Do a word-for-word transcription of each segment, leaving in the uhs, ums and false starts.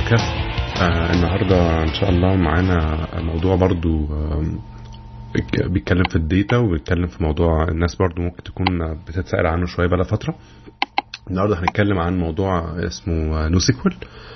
بودكاست. آه النهارده ان شاء الله معانا موضوع برضو آه بيتكلم في الداتا وبيتكلم في موضوع الناس برضو ممكن تكون بتتسأل عنه شويه بقى فتره. النهارده هنتكلم عن موضوع اسمه نو سيكوال.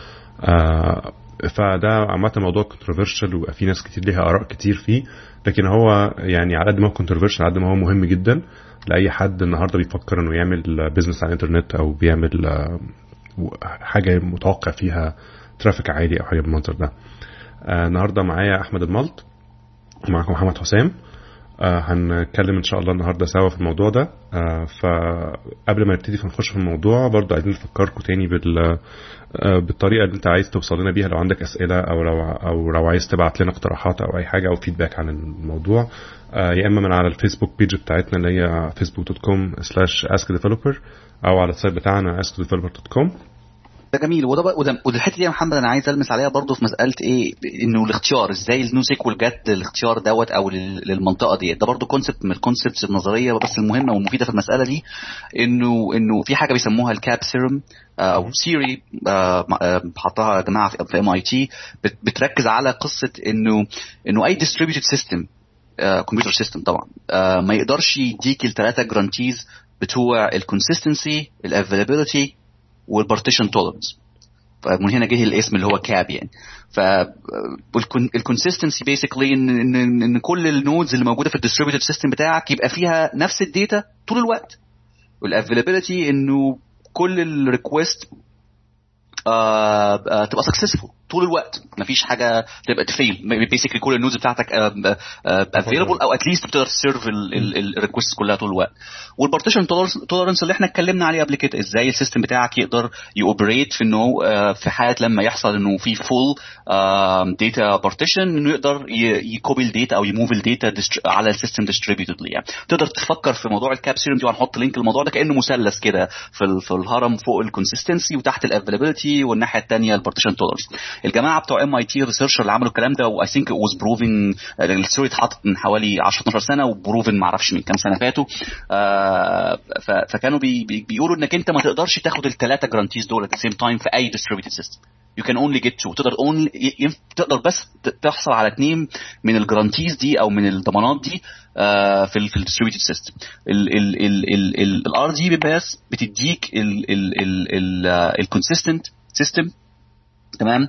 آه فده عامه موضوع كونتروفيرشال وفي في ناس كتير ليها اراء كتير فيه، لكن هو يعني على قد ما هو كونتروفيرشال على قد ما هو مهم جدا لاي حد النهارده بيفكر انه يعمل بيزنس على الانترنت او بيعمل آه حاجه متوقع فيها ترافيك عالي او حاجه بالمنظر ده. آه النهارده معايا احمد الملط ومعاكم محمد حسام. آه هنتكلم ان شاء الله النهارده سوا في الموضوع ده. آه فقبل ما نبتدي نخش في الموضوع برضو عايزين نفكركم تاني بال آه بالطريقه اللي انت عايز توصل لنا بيها لو عندك اسئله او لو او لو عايز تبعت لنا اقتراحات او اي حاجه او فيدباك عن الموضوع. آه يا اما من على الفيسبوك بيج بتاعتنا اللي هي فيسبوك دوت كوم سلاش اسك ديفلوبر او على السايت بتاعنا اسك ديفلوبر دوت كوم. ده جميل. وده وده والحته دي يا محمد انا عايز المس عليها برضو في مساله ايه، انه الاختيار ازاي النو سيكوال جت الاختيار دوت او للمنطقه دي. ده برضو كونسبت من الكونسبتس النظريه بس المهمه والمفيده في المساله دي، انه انه في حاجه بيسموها الكاب سيرم او سيري حطها يا جماعه في ام اي تي، بتركز على قصه انه انه اي ديستريبيوتد سيستم كمبيوتر سيستم طبعا uh, ما يقدرش يديك الثلاثه جرانتيز بتوع الكونسيستنسي الافيلابيلتي والبارتيشن تولرنس. فمن هنا جه الاسم اللي هو كاب يعني. فالكونسيستنسي بيسيكلي ان ان ان كل النودز اللي موجوده في الديستريبيوتد سيستم بتاعك يبقى فيها نفس الداتا طول الوقت. والافيلابيلتي انه كل الريكوست آه آه تبقى سكسسفول طول الوقت، مفيش حاجه تبقى تفيل. بيسيكلي كل النودز بتاعتك افيلابل او اتليست بتقدر تسيرف الريكوست كلها طول الوقت. والبارتيشن تولرنس اللي احنا اتكلمنا عليه قبل كده، ازاي السيستم بتاعك يقدر يوبريت في انه في حاله لما يحصل انه في فول داتا بارتيشن انه يقدر يكوبي الداتا او يموف الداتا على السيستم ديستريبيوتدلي. يعني تقدر تفكر في موضوع الكاب سيرم دي، وهنحط لينك الموضوع ده كانه مثلث كده في في الهرم، فوق الكونسيستنسي وتحت الافيلابيلتي والناحيه الثانيه البارتيشن تولرنس. الجماعه بتوع ام اي تي ريسيرشر اللي عملوا الكلام ده، واي ثينك ات واز بروفن، الستوري اتحطت من حوالي عشرة اتناشر سنه وبروفن ما اعرفش من كام سنه فاتوا. آه فكانوا بي بي بيقولوا انك انت ما تقدرش تاخد الثلاثه جرانتيز دول at the same time في اي distributed system. you can only get two. تقدر only تقدر بس تحصل على اثنين من الجرانتيز دي او من الضمانات دي آه في ال في الديستريبيوتد سيستم. الار دي بس بتديك الكونسيستنت سيستم، تمام،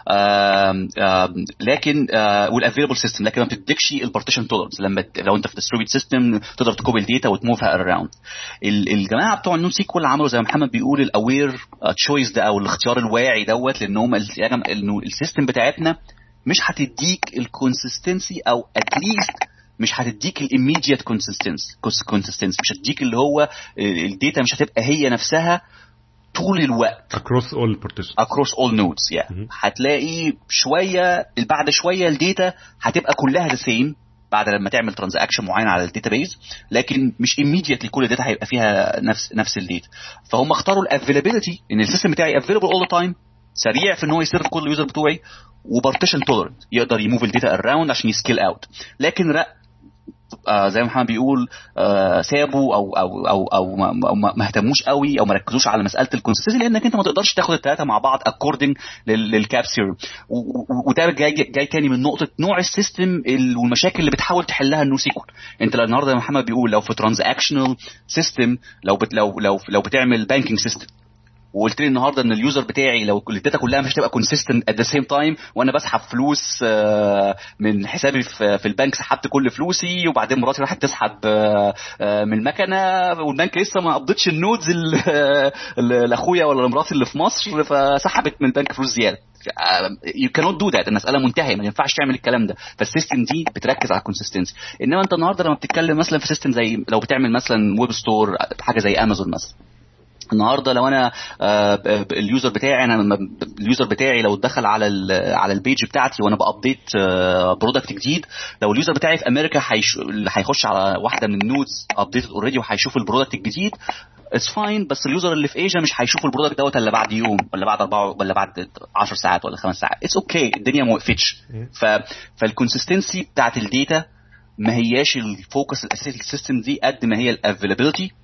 آم آم لكن والافيلابل سيستم، لكن ما بتديكش البارتيشن تولرنس. لما لو انت في ديستريبيوتد سيستم تقدر تكوبي الداتا وتموفها اراوند. الجماعه بتوع النو سيكوال عملوا زي ما محمد بيقول الاوير تشويس ده او الاختيار الواعي دوت، لانهم انه السيستم بتاعتنا مش هتديك الكونسيستنسي او اتليست مش هتديك الاميديت كونسيستنسي كونسيستنسي مش هتديك اللي هو الداتا مش هتبقى هي نفسها طول الوقت across all partitions across all nodes. يعني mm-hmm. هتلاقي شويه بعد شويه الداتا هتبقى كلها the same بعد لما تعمل ترانزاكشن معين على الداتابيز، لكن مش immediately كل الداتا هيبقى فيها نفس نفس الداتا. فهم اختاروا الافيلابيلتي، ان السيستم بتاعي available all the time، سريع في ان هو يسيرف كل اليوزر بتوعي، وبارتيشن تولرنت يقدر يموف الداتا اراوند عشان يسكيل اوت. لكن لا آه زي ما محمد بيقول آه سابوا او او او او ما, ما اهتموش قوي او ما ركزوش على مساله الكونسيستنسي، لانك انت ما تقدرش تاخد الثلاثه مع بعض اكوردنج للكاب سيرم. وده جاي جاي تاني من نقطه نوع السيستم والمشاكل اللي بتحاول تحلها النو سيكوال. انت النهارده يا محمد بيقول لو في ترانزاكشنال سيستم، لو بت لو لو لو بتعمل بانكينج سيستم، وقلت لي النهارده ان اليوزر بتاعي لو الداتا كلها مش هتبقى كونسيستنت ات ذا سيم تايم، وانا بسحب فلوس من حسابي في البنك، سحبت كل فلوسي وبعدين مراتي راحت تسحب من المكنه والبنك لسه ما قبضتش النودز لاخويا ولا لمراتي اللي في مصر، فسحبت من البنك فلوس زياده. you cannot do that. المساله منتهيه، ما ينفعش تعمل الكلام ده. فالسيستم دي بتركز على الكونسيستنسي. انما انت النهارده لما بتتكلم مثلا في سيستم زي لو بتعمل مثلا ويب ستور، حاجه زي امازون مثلا، النهارده لو انا آه اليوزر بتاعي انا اليوزر بتاعي لو دخل على على البيج بتاعتي وانا بابديت آه برودكت جديد، لو اليوزر بتاعي في امريكا هيخش على واحده من النودز ابديتد اوريدي وهيشوف البرودكت الجديد، اتس فاين. بس اليوزر اللي في ايجا مش هيشوف البرودكت دوت الا بعد يوم ولا بعد أربعة ولا بعد عشر ساعات ولا خمس ساعات. اتس اوكي okay. الدنيا ما وقفتش. ف فالكونسيستنسي بتاعت الداتا ما هياش الفوكس الاساسي للسيستم دي قد ما هي الافيلابيلتي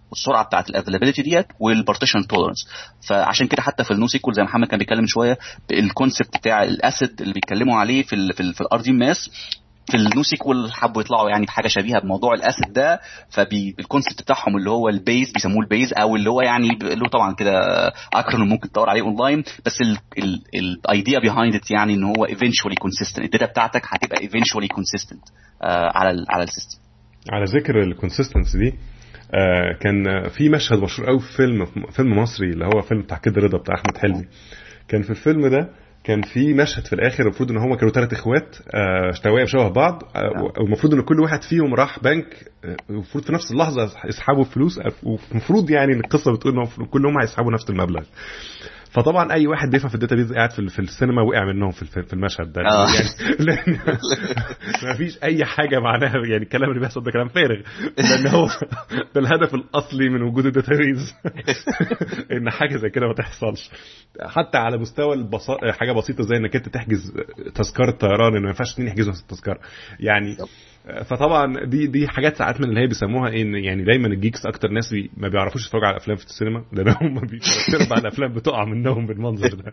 والسرعه بتاعه الافيلابيلتي ديت والبارتيشن تولرنس. فعشان كده حتى في النو سيكول زي محمد كان بيتكلم شويه الكونسبت بتاع الاسيد اللي بيتكلموا عليه في ال في, ال في الار دي ماس، في النو سيكول حبوا يطلعوا يعني بحاجه شبيهه بموضوع الاسيد ده. فالكونسبت بتاعهم اللي هو البيز بيسموه البيز، او اللي هو يعني له طبعا كده اكرونيم ممكن تدور عليه اونلاين، بس الايديا بيهايند ات يعني ان هو ايفينشولي كونسيستنت، الداتا بتاعتك هتبقى ايفينشولي كونسيستنت على ال على السيستم. على ذكر الكونسيستنسي دي، آه كان في مشهد مشهور قوي في فيلم فيلم مصري اللي هو فيلم بتاع كده رضا بتاع احمد حلمي. كان في الفيلم ده كان في مشهد في الاخر المفروض ان هم كانوا ثلاث اخوات اشتويه بشبه بعض، والمفروض ان كل واحد فيهم راح بنك المفروض في نفس اللحظه يسحبوا فلوس، والمفروض يعني القصه بتقول ان كلهم هيسحبوا نفس المبلغ. فطبعا اي واحد بيفهم في الداتابيز قاعد في في السينما وقع منهم في في المشهد ده آه. يعني لان ما فيش اي حاجه معناها يعني الكلام اللي بيحصل ده كلام فارغ، لان هو ده الهدف الاصلي من وجود الداتابيز ان حاجه زي كده ما تحصلش. حتى على مستوى البساط حاجه بسيطه زي انك انت تحجز تذكره طيران، ان ما ينفعش اتنين يحجزوا نفس التذكره يعني. فطبعا دي دي حاجات ساعات من اللي هي بيسموها ان يعني دايما الجيكس اكتر ناس بي ما بيعرفوش يتفرجوا على افلام في السينما، لان هم بيتفرجوا على الافلام بتقع منهم بالمنظر ده.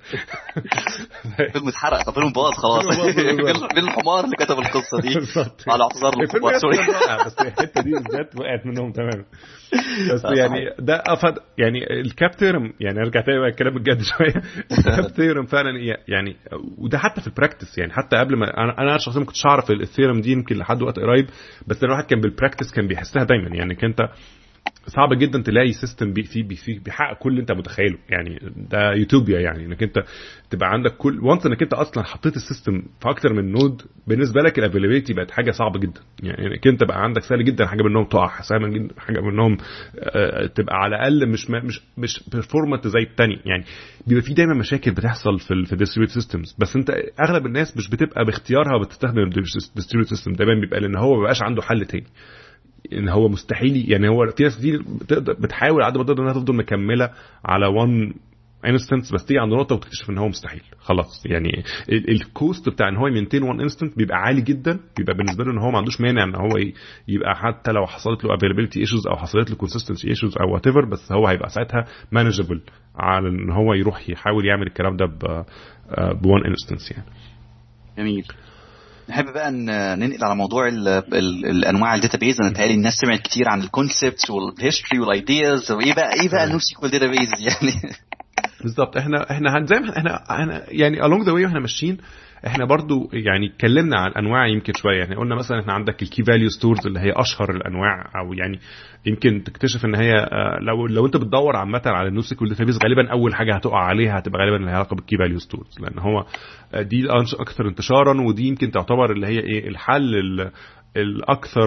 فيلم اتحرق، فيلم باظ خلاص. مين الحمار اللي كتب القصه دي؟ على اعتذار للكبار سوري، بس الحته دي بالذات وقعت منهم تماما. بس يعني ده افاد يعني الكابتيرم، يعني ارجع تاني بقى الكلام الجد شويه. الكابتيرم فعلا يعني، وده حتى في البراكتس يعني، حتى قبل ما انا انا شخصيا ما كنتش اعرف الثيرم دي يمكن لحد وقت قريب، بس الواحد كان بالبراكتس كان بيحسها دايما يعني. كنت صعب جدا تلاقي سيستم بي فيه بي بيحقق كل اللي انت متخيله يعني. ده يوتوبيا يعني، انك انت تبقى عندك كل وانس انك انت اصلا حطيت السيستم في اكتر من نود، بالنسبه لك الافيلابيلتي بقت حاجه صعبه جدا يعني. انك انت بقى عندك سهل جدا حاجه منهم تقع، سهل جدا حاجه منهم آه تبقى على الاقل مش مش مش بيرفورمانت زي الثاني يعني. بيبقى في دايما مشاكل بتحصل في في الديستريبيوتد سيستمز، بس انت اغلب الناس مش بتبقى باختيارها بتستخدم الديستريبيوتد سيستم، دايما بيبقى لان هو ما بقاش عنده حل تاني، ان هو مستحيل يعني. هو في ناس كتير بتحاول عاد ما تقدر انها تفضل مكمله على وان انستنس، بس تيجي عند نقطه وتكتشف ان هو مستحيل خلاص يعني. الكوست بتاع ان هو يمنتين وان انستنس بيبقى عالي جدا، بيبقى بالنسبه له ان هو ما عندوش مانع ان هو يبقى حتى لو حصلت له افيلابيلتي ايشوز او حصلت له كونسيستنسي ايشوز او وات ايفر، بس هو هيبقى ساعتها مانجبل على ان هو يروح يحاول يعمل الكلام ده بوان انستنس يعني. جميل. نحب بقى ننقل على موضوع ال ال الانواع الداتابيز. انا تهيألي الناس سمعت كتير عن الكونسبتس والهيستوري والايدياز، وايه بقى ايه بقى النو سيكوال داتابيز يعني. بالظبط. احنا احنا زي ما احنا احنا يعني along the way واحنا ماشيين احنا برضو يعني اتكلمنا عن انواع يمكن شويه يعني. قلنا مثلا احنا عندك الكي فاليو ستورز اللي هي اشهر الانواع، او يعني يمكن تكتشف ان هي لو لو انت بتدور عامه على النو سيكوال داتابيز غالبا اول حاجه هتقع عليها هتبقى غالبا لها علاقه بالكي فاليو ستورز، لان هو دي اكثر انتشارا، ودي يمكن تعتبر اللي هي ايه الحل الاكثر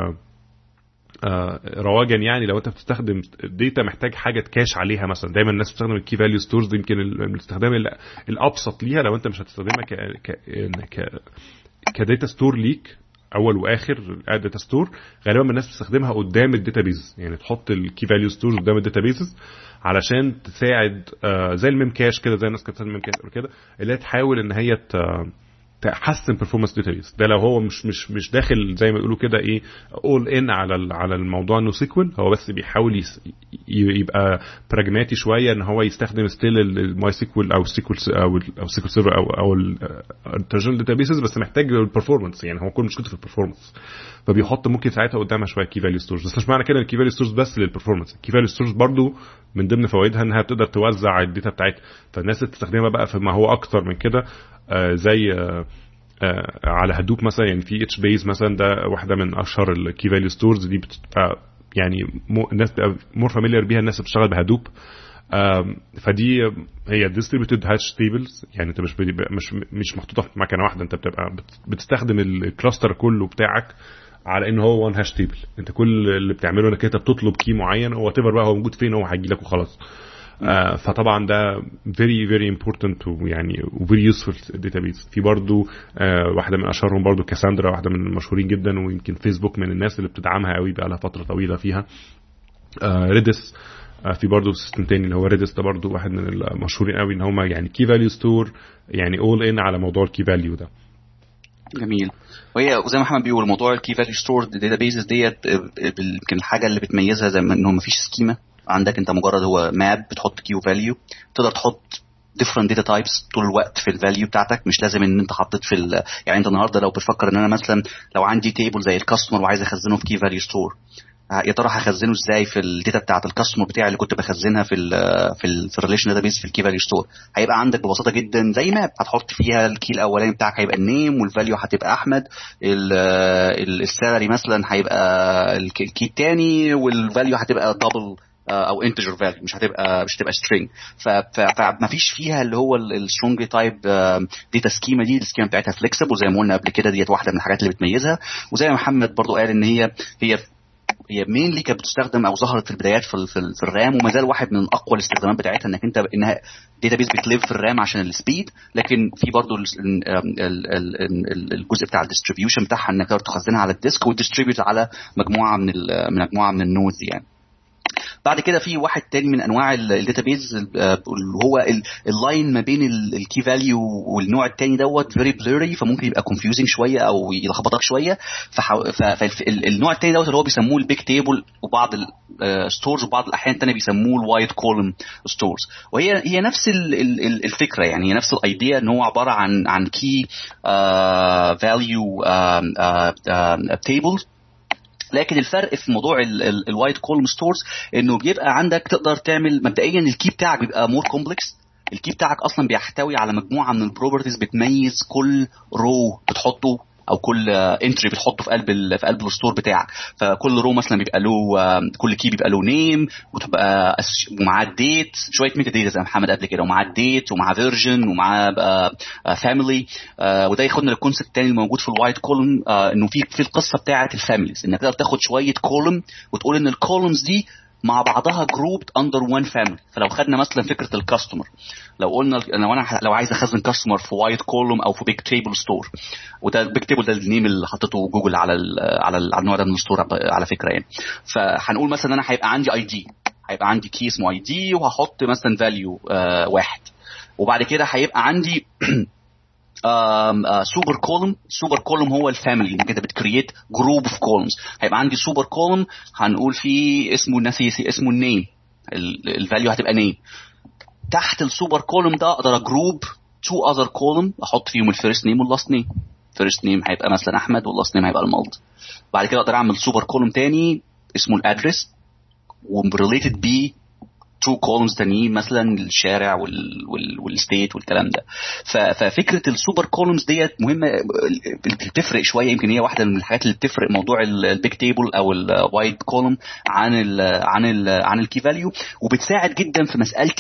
رواجا يعني. لو انت بتستخدم داتا محتاج حاجه تكاش عليها مثلا، دايما الناس بتستخدم الكي فاليو ستورز، يمكن الاستخدام الابسط ليها لو انت مش هتستخدمها ك ك كداتا ستور ليك اول واخر داتا ستور. غالبا الناس بتستخدمها قدام الداتابيز يعني، تحط الكي فاليو ستورز قدام الداتابيز علشان تساعد زي الميم كاش كده، زي الناس كانت بتستخدم الميم كاش كده، اللي هي تحاول ان هي تحسن performance database. ده لو هو مش مش مش داخل زي ما يقولوا كده ايه all in على على الموضوع انه سيكوال، هو بس بيحاول يبقى براجماتي شويه ان هو يستخدم ستيل الماي سيكوال او سيكوال او او سيكوال سيرفر او او الترجمه داتابيسز، بس محتاج البرفورمانس يعني. هو كل مشكلته في البرفورمانس، فبيحط ممكن ساعتها قدامها شويه كي فاليو ستورز. بس مش معنى كده الكي فاليو ستورز بس للبرفورمانس، الكي فاليو ستورز برضو من ضمن فوائدها انها بتقدر توزع الداتا بتاعتها، فالناس اللي بتستخدمها بقى فما هو اكتر من كده. آه زي آه آه على هدوب مثلا يعني، في اتش بيز مثلا ده واحده من اشهر الكي فاليو ستورز دي، بتبقى يعني الناس بتبقى مور فاميليار بيها الناس اللي بتشتغل بهدوب. فدي هي ديستريبيوتد هاش تيبلز يعني، انت مش مش مش محطوطه في مكنه واحده، انت بتبقى بتستخدم الكلاستر كله بتاعك على ان هو وان هاش تيبل. انت كل اللي بتعمله انك انت بتطلب كي معين، هو تيفر بقى هو موجود فين هو هيجي لك وخلاص. آه فطبعا ده very very important ويعني very useful database. في برضو آه واحده من اشهرهم برضو كاساندرا، واحده من المشهورين جدا، ويمكن فيسبوك من الناس اللي بتدعمها قوي بقى لها فتره طويله فيها. آه ريدس، آه في برضو سيستم تاني اللي هو ريدس، ده برضو واحد من المشهورين قوي ان هم يعني key value store يعني all in على موضوع الكي فاليو ده. جميل. وهي زي ما محمد بيقول موضوع الكي فاليو ستور داتابيسز ديت يمكن الحاجه اللي بتميزها زي ما انه مفيش سكيما عندك، انت مجرد هو ماب بتحط كيو فاليو، تقدر تحط different data types طول الوقت في الفاليو بتاعتك. مش لازم ان انت حطيت في ال... يعني انت النهارده لو بتفكر ان انا مثلا لو عندي تيبل زي الكاستمر وعايز اخزنه في كي فاليو ستور، يا ترى هخزنه ازاي في الداتا بتاعه الكاستمر بتاعي اللي كنت بخزنها في ال في ال في الريليشن داتابيس في الكي فاليو ستور؟ هيبقى عندك ببساطه جدا زي ماب هتحط فيها الكي الاولاني بتاعك هيبقى النيم، والفاليو هتبقى احمد، السالري مثلا هيبقى الكي الثاني، والفاليو هتبقى دبل او انتجر فاليو، مش هتبقى مش هتبقى سترينج. فما فيش فيها اللي هو السترونج تايب داتا سكيما دي. السكيما بتاعتها فليكسبل وزي ما قلنا قبل كده، ديت واحده من الحاجات اللي بتميزها. وزي ما محمد برضو قال ان هي هي هي مينلي كانت بتستخدم او ظهرت في البدايات في, في, في الرام، وما زال واحد من اقوى الاستخدامات بتاعتها انك انت انها داتابيس بتليف في الرام عشان السبيد، لكن في برضو الجزء بتاع الديستريبيوشن بتاعها انك تقدر تخزنها على الديسك وتديستريبيوت على مجموعه من من مجموعه من النودز يعني. بعد كده في واحد تاني من انواع الداتابيز اللي هو اللاين ما بين الكي فاليو والنوع التاني دوت فيري بلوري، فممكن يبقى كونفيوزنج شويه او يلخبطك شويه. فالنوع التاني دوت اللي هو بيسموه البيج تيبل، وبعض الستورز وبعض الاحيان التانيه بيسموه الوايت كولوم ستورز. وهي هي نفس الفكره يعني، هي نفس الايديا ان هو عباره عن عن كي فاليو تيبلز، لكن الفرق في موضوع الوايت كولوم ستورز انه بيبقى عندك تقدر تعمل مبدئيا الكي بتاعك بيبقى مور كومبلكس. الكي بتاعك اصلا بيحتوي على مجموعه من البروبرتيز بتميز كل رو بتحطه او كل انتري بتحطه في قلب في قلب الستور بتاعك. فكل رو مثلا بيبقى له، كل كي بيبقى له نيم وتبقى ومعاه الديت، شويه ميتا داتا زي محمد قبل كده، ومعاه الديت ومعاه فيرجن ومعاه فاميلي. وده ياخدنا للكونسيبت الثاني الموجود في الوايت كولوم، انه في في القصه بتاعه الفاميليز، انك تقدر تاخد شويه كولوم وتقول ان الكولومز دي مع بعضها جروبد اندر وان فاميلي. فلو خدنا مثلا فكره الكاستمر، لو قلنا لو انا لو عايز اخزن كاستمر في وايت كولوم او في بيج تيبل ستور، وده البيج تيبل ده النيم اللي حطيته جوجل على ال على ال على النوع ده من الستور على فكره يعني. فهنقول مثلا انا هيبقى عندي اي دي، هيبقى عندي كي اسمه اي دي، وهحط مثلا فاليو آه واحد، وبعد كده هيبقى عندي سوبر كولوم. سوبر كولوم هو الفاميلي، انك انت بتكريت جروب اوف كولومز. هيبقى عندي سوبر كولوم هنقول فيه اسمه ناسي اسمه النيم، الفاليو هتبقى نيم. تحت السوبر كولوم ده اقدر اجروب تو اذر كولوم، احط فيهم الفيرست نيم واللاست نيم. فيرست نيم هيبقى مثلا احمد، واللاست نيم هيبقى المالت. بعد كده اقدر اعمل سوبر كولوم تاني اسمه الادرس، وريليتد بيه تو كولومز تانيين مثلا الشارع والستيت والكلام ده. ففكره السوبر كولومز ديت مهمه، بتفرق شويه. يمكن هي واحده من الحاجات اللي بتفرق موضوع البيج تيبل او الوايت كولوم عن ال عن ال عن الكي فاليو، وبتساعد جدا في مساله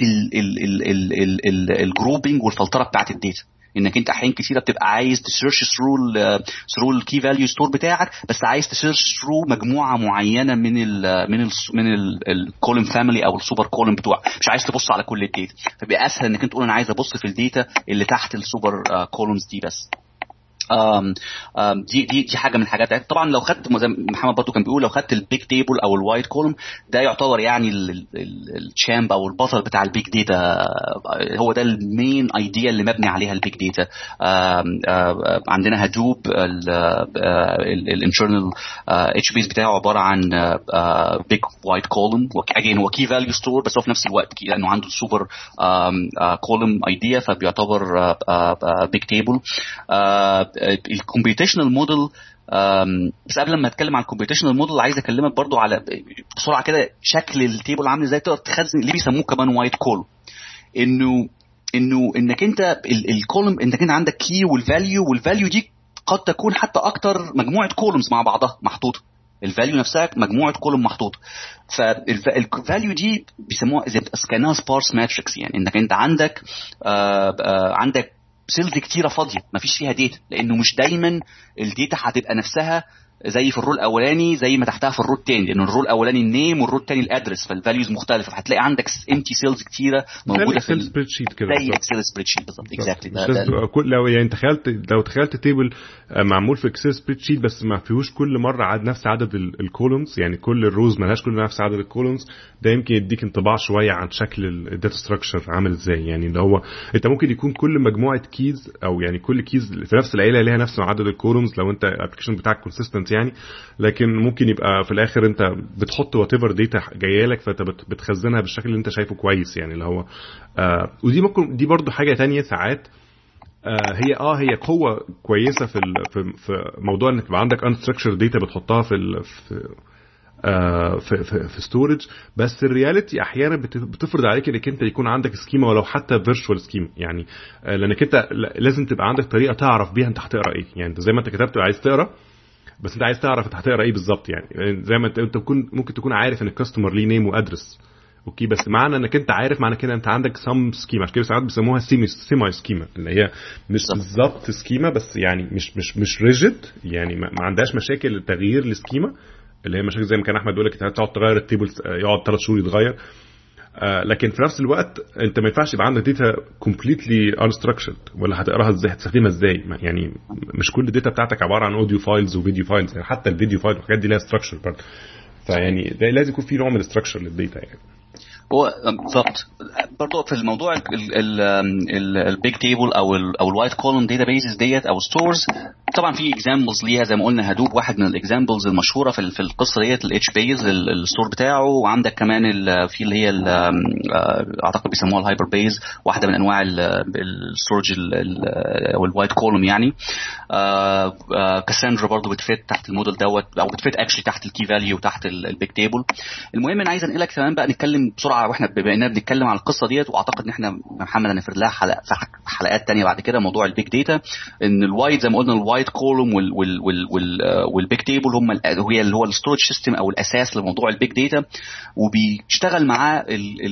الجروبنج والفلتره بتاعه الداتا. انك انت احيان كتيره بتبقى عايز تسيرش ثرو ثرو الكي فاليو ستور بتاعك، بس عايز تسيرش ثرو مجموعه معينه من ال من ال من الكولوم فاميلي او السوبر كولوم بتوعك، مش عايز تبص على كل الداتا. فبيبقى اسهل انك انت تقول انا عايز ابص في الداتا اللي تحت السوبر كولومز دي بس. آم آم دي دي دي حاجه من الحاجات. طبعا لو خدت زي محمد برضو كان بيقول، لو خدت البيج تيبل او الوايت كولوم، ده يعتبر يعني الشامب او البطل بتاع البيج داتا. هو ده المين ايديا اللي مبني عليها البيج داتا. عندنا هدوب الانترنال اتش بيس بتاعه عباره عن بيج وايت كولوم، واجين هو كي فاليو ستور، بس هو في نفس الوقت لانه عنده سوبر كولوم ايديا فبيعتبر بيج تيبل. الكمبيوتيشنال موديل، بس قبل ما اتكلم عن الكمبيوتيشنال موديل عايز اكلمك برضو على بسرعه كده شكل التيبل عامل ازاي تقدر تخزن اللي بيسموه كمان وايت كولوم. انه انه انك انت الكولوم انك انت عندك كي والفاليو، والفاليو دي قد تكون حتى اكتر مجموعه كولومز مع بعضها محطوطه. الفاليو نفسها مجموعه كولوم محطوطه. فالفاليو دي بيسموها زي كانها سبارس ماتريكس، يعني انك انت عندك آآ آآ عندك سيلز كتيره فاضيه ما فيش فيها داتا، لانه مش دايما الداتا هتبقى نفسها زي في الرول الاولاني زي ما تحتها في الرول الثاني، لان الرول الاولاني النيم والرول الثاني الادرس، فالفاليوز مختلفه، فهتلاقي عندك امتي سيلز كتيره موجوده في السبريد شيت كده زي اكسل سبريد شيت بالظبط. اكزاكتلي لو يعني تخيلت لو تخيلت تيبل معمول في اكسل سبريد شيت بس ما فيهوش كل مره عدد نفس عدد الكولومز، يعني كل الروز ملهاش كل نفس عدد الكولومز، ده يمكن يديك انطباع شويه عن شكل الداتا ستراكشر عامل ازاي. يعني اللي هو انت ممكن يكون كل مجموعه كيز او يعني كل كيز في نفس العيله ليها نفس عدد الكولومز لو انت الابلكيشن بتاعك كونسيستنت يعني، لكن ممكن يبقى في الاخر انت بتحط وات ايفر داتا جايه لك فانت بتخزنها بالشكل اللي انت شايفه كويس. يعني اللي هو آه ودي ممكن دي برضو حاجه تانية ساعات آه هي اه هي قوه كويسه في في في موضوع انك يبقى عندك unstructured data بتحطها في ال في آه في في, في storage، بس الرياليتي احيانا بتفرض عليك انك انت يكون عندك سكيما ولو حتى فيرتشوال سكيما، يعني آه لانك انت لازم تبقى عندك طريقه تعرف بيها انت هتقرا ايه. يعني انت زي ما انت كتبت عايز تقرا، بس انت عايز تعرف انت هتقرا ايه بالظبط. يعني زي ما انت انت تكون ممكن تكون عارف ان الكاستمر ليه نيم وادرس، اوكي، بس معنى انك انت عارف معنى كده انت عندك سم سكيما، عشان كده ساعات بيسموها سيمي سيماي سكيما، اللي هي مش بالظبط سكيما بس يعني مش مش مش ريجيد، يعني ما عندهاش مشاكل التغيير السكيما اللي هي مشاكل زي ما كان احمد بيقول لك تقعد تغير التيبل يقعد ثلاث شهور يتغير. آه لكن في نفس الوقت انت ما ينفعش يبقى عندك داتا كومبليتلي unstructured، ولا هتقراها ازاي هتستخدمها ازاي؟ يعني مش كل الداتا بتاعتك عباره عن اوديو فايلز وفيديو فايلز، يعني حتى الفيديو فايل والحاجات دي لها ستراكشر برضه، فيعني ده لازم يكون في نوع من الستراكشر للداتا. يعني هو بالظبط برضه في الموضوع البيج تيبل او ال او الوايت كولوم داتابيسز ديت او ستورز، طبعا في اكزامبلز ليها زي ما قلنا هدوب واحد من الاكزامبلز المشهوره في في القصه ديت، الاتش بيز الستور بتاعه، وعندك كمان في اللي هي اعتقد بيسموها الهايبر بيز، واحده من انواع الستورج او الوايت كولوم يعني. كاساندرا برضه بتفيت تحت الموديل دوت، او بتفيت اكشلي تحت الكي فاليو تحت البيج تيبل. المهم انا عايز انقلك كمان بقى نتكلم بسرعه واحنا بما اننا بنتكلم عن القصه ديت، واعتقد ان احنا محمد هنفرد لها حلقه في حلقات تانية بعد كده موضوع البيج داتا، ان الوايت زي ما قلنا الوايت كولوم وال وال وال والبيج تيبل هم هي اللي هو الستورج سيستم او الاساس لموضوع البيج داتا، وبيشتغل معاه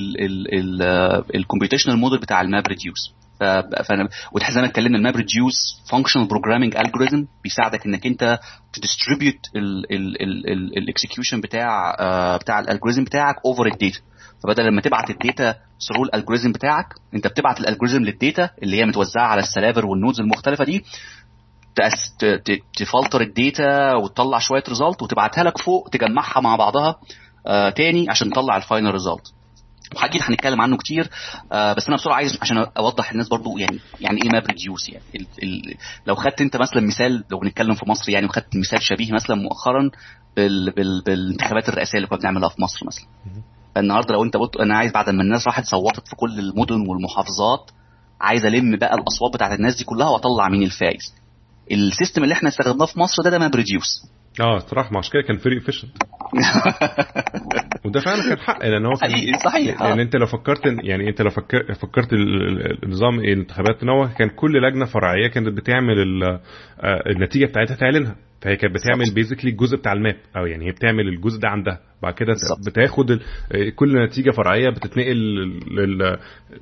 الكمبيوتيشنال موديل بتاع الماب ريديوس. فانا وتحس زي ما اتكلمنا الماب ريديوس فانكشنال بروجرامينج الجوريثم بيساعدك انك انت تديستريبيوت الاكسكيوشن بتاع بتاع الالجوريثم بتاعك اوفر الداتا. فبدل لما تبعت الداتا ثرو الالجوريثم بتاعك، انت بتبعت الالجوريثم للداتا اللي هي متوزعه على السلافر والنودز المختلفه دي، تفلتر الداتا وتطلع شويه ريزلت وتبعتها لك فوق تجمعها مع بعضها آه تاني عشان تطلع الفاينل ريزلت. واكيد هنتكلم عنه كتير، آه بس انا بسرعه عايز عشان اوضح الناس برضو يعني يعني ايه ماب ريديوس. يعني ال ال لو خدت انت مثلا مثال، لو بنتكلم في مصر يعني، وخدت مثال شبيه مثلا مؤخرا بال بال بالانتخابات الرئاسيه اللي كنا بنعملها في مصر مثلا. النهارده لو انت قلت انا عايز بعد ما الناس راحت صوتت في كل المدن والمحافظات، عايز الم بقى الاصوات بتاعت الناس دي كلها واطلع مين الفائز، السيستم اللي احنا استخدمناه في مصر ده ده ماب ريديوس. اه صراحه مش كده كان فري افيشنت وده فعلا كان حق، لان هو صحيح صحيح يعني انت لو فكرت يعني انت لو فكر فكرت النظام الانتخابات ان هو كان كل لجنه فرعيه كانت بتعمل النتيجه بتاعتها تعلنها، فهي كانت بتعمل بيزيكلي الجزء بتاع الماب، او يعني هي بتعمل الجزء ده عندها، بعد كده بتاخد كل نتيجه فرعيه بتتنقل لل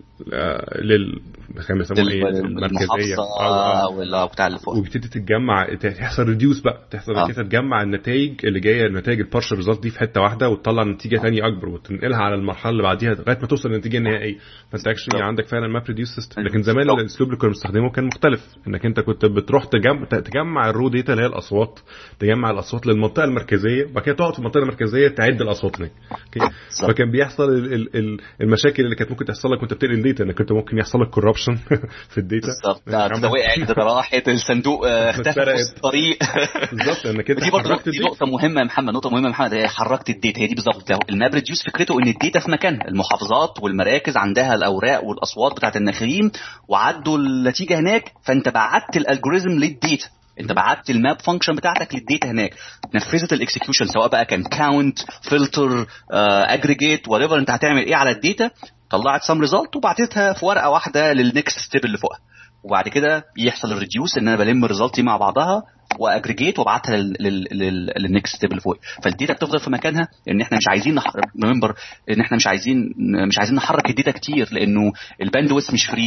لل المركزيه او بتاع اللي فوق، وبتبتدي تتجمع تحصل ريديوس بقى تحصل آه. كده تجمع النتائج اللي جايه النتائج البارشل ريزلت دي في حته واحده وتطلع نتيجه ثانيه اكبر وتنقلها على المرحله اللي بعديها لغايه ما توصل للنتيجه النهائيه. فانت اكشلي عندك فعلا ماب ريديوس سيستم. لكن زمان الاسلوب اللي كنا بنستخدمه كان مختلف، انك انت كنت بتروح تجمع تجمع الرو داتا اللي هي الاصوات، تجمع الاصوات للمنطقه المركزيه، وبعد كده تقعد في المنطقه المركزيه تعد الاصوات هناك. فكان بيحصل المشاكل اللي كانت ممكن تحصل لك وانت بتنقل الداتا، انك انت ممكن يحصل لك كوربشن في الداتا بالظبط، ده وقعت ده راحت الصندوق اختفى في الطريق بالظبط. انك كده دي برضه دي نقطه مهمه يا محمد، نقطه مهمه يا محمد، هي حركت الداتا. هي دي بالظبط الماب ريديوس فكرته ان الداتا في مكانها، المحافظات والمراكز عندها الاوراق والاصوات بتاعه الناخبين وعدوا النتيجه هناك، فانت بعت الالجوريثم للداتا، انت بعت الماب فانكشن بتاعتك للداتا هناك، نفذت الاكسكيوشن سواء بقى كان كاونت فلتر اجريجيت وات ايفر انت هتعمل ايه على الداتا، طلعت سم ريزلت وبعتتها في ورقه واحده للنكست ستيب اللي فوقها. وبعد كده يحصل الريديوس ان انا بلم الريزلت مع بعضها واجريجيت وابعتها للنكست ستيب اللي فوق. فالداتا بتفضل في مكانها، لان احنا مش عايزين ريمبر ان احنا مش عايزين مش عايزين نحرك الداتا كتير، لانه الباندويث مش فري،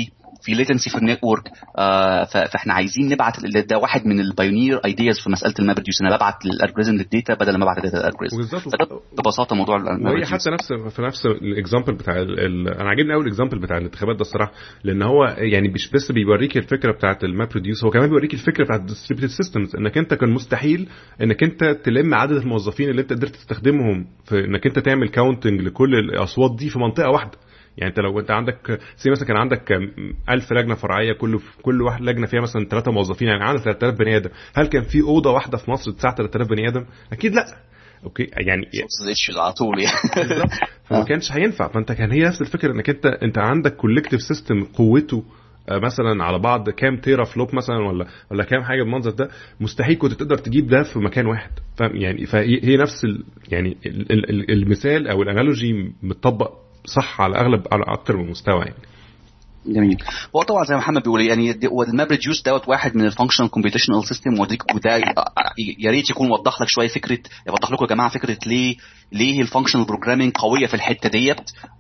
في ليتنسي في النتورك. آه فاحنا عايزين نبعت ده واحد من البايونير ايدياز في مساله الماب ريديوس، انا ببعت الالجوريزم للداتا بدل ما ابعت الداتا للالجوريزم. ببساطه موضوع الماب ريديوس حتى نفس في نفس الاكزامبل بتاع ال ال انا عاجبني قوي الاكزامبل بتاع الانتخابات ده الصراحه، لان هو يعني مش بس بيوريك الفكره بتاعه الماب ريديوس، هو كمان بيوريك الفكره بتاعه الديستريبيوتد سيستمز، انك انت كان مستحيل انك انت تلم عدد الموظفين اللي انت قدرت تستخدمهم في انك انت تعمل كاونتنج لكل الاصوات دي في منطقه واحده. يعني انت لو انت عندك زي مثلا كان عندك ألف لجنه فرعيه، كل كل واحد لجنه فيها مثلا ثلاثة موظفين، يعني عندك ثلاثة آلاف بني ادم، هل كان في اوضه واحده في مصر تساع ثلاثة آلاف بني ادم؟ اكيد لا. اوكي يعني على طول يعني فما كانش هينفع. فانت كان هي نفس الفكره انك انت انت عندك كولكتيف سيستم قوته مثلا على بعض كام تيرا فلوب مثلا ولا ولا كام حاجه بالمنظر ده، مستحيل كنت تقدر تجيب ده في مكان واحد. فاهم يعني؟ فهي نفس ال يعني المثال او الانالوجي متطبق صح على اغلب على اكتر من مستوى يعني. جميل. هو طبعا زي ما محمد بيقول يعني الماب ريديوس دوت واحد من الفانكشنال كومبيوتيشنال سيستم، وده يا ريت يكون وضح لك شويه فكره، يوضح لكم يا جماعه فكره ليه ليه الفانكشنال بروجرامينج قويه في الحته ديت.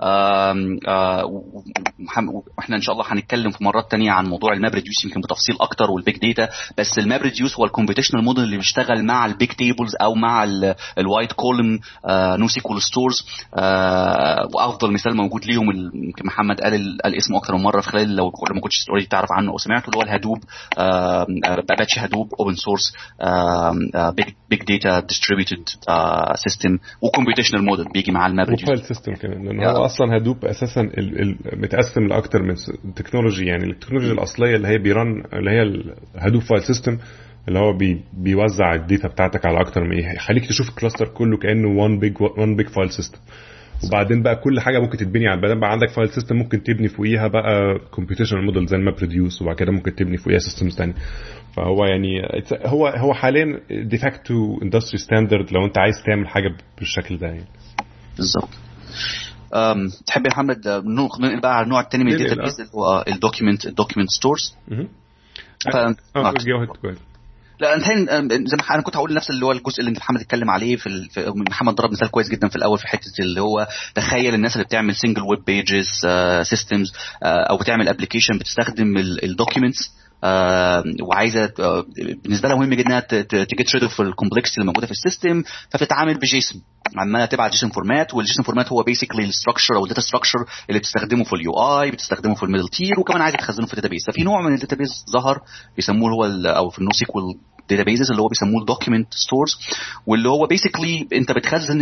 واحنا ان شاء الله هنتكلم في مرات تانية عن موضوع الماب ريديوس يمكن بتفصيل اكتر والبيج داتا. بس الماب ريديوس هو الكومبيوتيشنال موديل اللي بيشتغل مع البيج تيبلز او مع الوايت كولم نو سيكوال ستورز. وافضل مثال موجود ليهم يمكن محمد قال قال اسمه اكتر من مره في خلال لو ما كنتش اوريدي تعرف عنه او سمعته، اللي هو الهدوب باتش هدوب اوبن سورس بيج بيج داتا ديستريبيوتد سيستم وكمبيوتيشنال موديل بيجي مع الماب ريديوس فايل سيستم كمان، لان هو اصلا هدوب اساسا متقسم لاكتر من تكنولوجي. يعني التكنولوجيا الاصليه اللي هي بيرن اللي هي الهدوب فايل سيستم اللي هو بي بيوزع الداتا بتاعتك على اكتر من ايه، يخليك تشوف الكلاستر كله كانه وان بيج وان بيج فايل سيستم. وبعدين بقى كل حاجه ممكن تتبني على بعدين بقى عندك فايل سيستم ممكن تبني فوقيها بقى كومبيوتيشنال موديل زي الماب ريديوس، وبعد كده ممكن تبني فوقيها سيستمز ثانيه. فهو يعني هو هو حاليا ديفاكتو اندستري ستاندرد لو انت عايز تعمل حاجه بالشكل ده يعني. بالظبط. امم تحب يا محمد ننقل بقى على النوع الثاني من الداتابيز اللي هو الدوكيمنت الدوكيمنت ستورز؟ اه جو كويس. لا انت زي ما انا كنت هقول نفس اللي هو الجزء اللي انت محمد اتكلم عليه في, ال... في محمد ضرب مثال كويس جدا في الاول في حته اللي هو تخيل الناس اللي بتعمل سنجل ويب بيجز سيستمز او بتعمل ابلكيشن بتستخدم الدوكيومنتس آه وعايزه آه بالنسبه لها مهم جدا انها تجيت ريد اوف الكومبلكسيتي اللي موجوده في السيستم، فبتتعامل بجيسون، عماله تبعت جيسون فورمات، والجيسون فورمات هو بيسيكلي الستراكشر او الداتا ستراكشر اللي بتستخدمه في اليو اي، بتستخدمه في الميدل تير، وكمان عايزه تخزنه في الداتابيس. ففي نوع من الداتابيس ظهر بيسموه هو او في النو سيكوال databases اللي هو بيسموه الدوكيمنت ستورز، واللي هو بيسيكلي انت بتخزن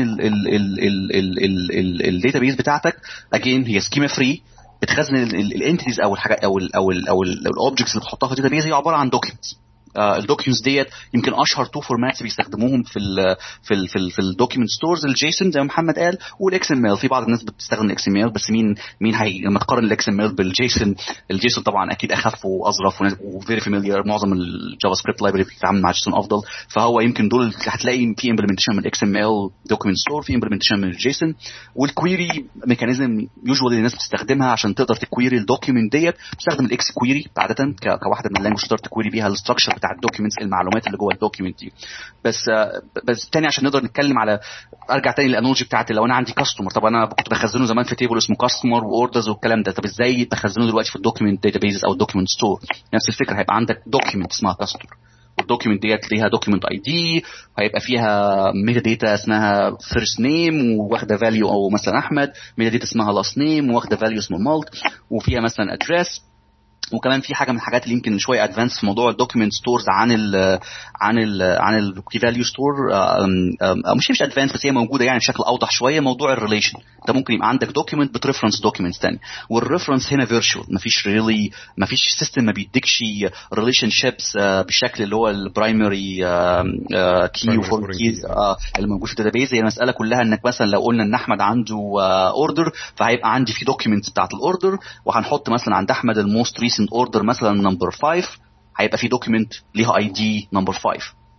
الداتابيس بتاعتك اجين هي سكيما فري، بتخزن الانتيتيز او الحاجات او ال او ال او الاوبجكتس اللي بتحطها في الداتابيس هي عباره عن دوكيمنتس. الدوكيومنتس ديت يمكن اشهر تو فورماتس بيستخدموهم في ال في ال في, ال في الدوكيمنت ستورز، الجيسون زي ما محمد قال والاكس ام ال. في بعض الناس بتستخدم الاكس ام ال، بس مين مين هي لما تقارن الاكس ام ال بالجيسون، الجيسون طبعا اكيد اخف واظرف وفيري فاميليار، معظم الجافا سكريبت لايبرري بتتعامل مع جيسون افضل. فهو يمكن دول هتلاقي في امبلمنتيشن من الاكس ام ال دوكيمنت ستور، في امبلمنتيشن من الجيسون، والكويري ميكانيزم يوجوالي الناس بتستخدمها عشان تقدر تكويري الدوكيمنت ديت، بتستخدم الاكس كويري عاده كواحده من اللانجوج تقدر تكويري بيها الاستراكشر بتاع الدوكيمنتس، المعلومات اللي جوه الدوكيمنت دي. بس بس تاني عشان نقدر نتكلم على ارجع تاني للانالوجي بتاعتي، لو انا عندي كاستمر، طب انا كنت بخزنه زمان في تيبل اسمه كاستمر واوردرز والكلام ده، طب ازاي بخزنه دلوقتي في الدوكيمنت داتابيز او الدوكيمنت ستور؟ نفس الفكره، هيبقى عندك دوكيمنت اسمها كاستمر، والدوكيمنت ديت ليها دوكيمنت اي دي، هيبقى فيها ميتا داتا اسمها فيرست نيم واخده فاليو او مثلا احمد، ميتا داتا اسمها لاست نيم واخده فاليو اسمه مالت، وفيها مثلا ادريس. وكمان في حاجه من الحاجات اللي يمكن شويه ادفانس في موضوع الدوكيمنت ستورز عن ال عن ال عن الكي فاليو ستور، مش مش ادفانس بس هي موجوده يعني بشكل اوضح شويه، موضوع الريليشن. انت ممكن يبقى عندك دوكيمنت بتريفرنس دوكيمنتس ثاني، والريفرنس هنا فيرتشوال، مفيش ريلي مفيش سيستم ما بيديكش ريليشن شيبس بالشكل اللي هو البرايمري كي وفور كي اللي موجود في الداتابيز. هي المساله كلها انك مثلا لو قلنا ان احمد عنده اوردر، فهيبقى عندي في دوكيمنتس بتاعت الاوردر، وهنحط مثلا عند احمد الموست ريسنت اوردر مثلا نمبر خمسة، هيبقى في دوكيمنت ليها اي دي نمبر خمسة تحت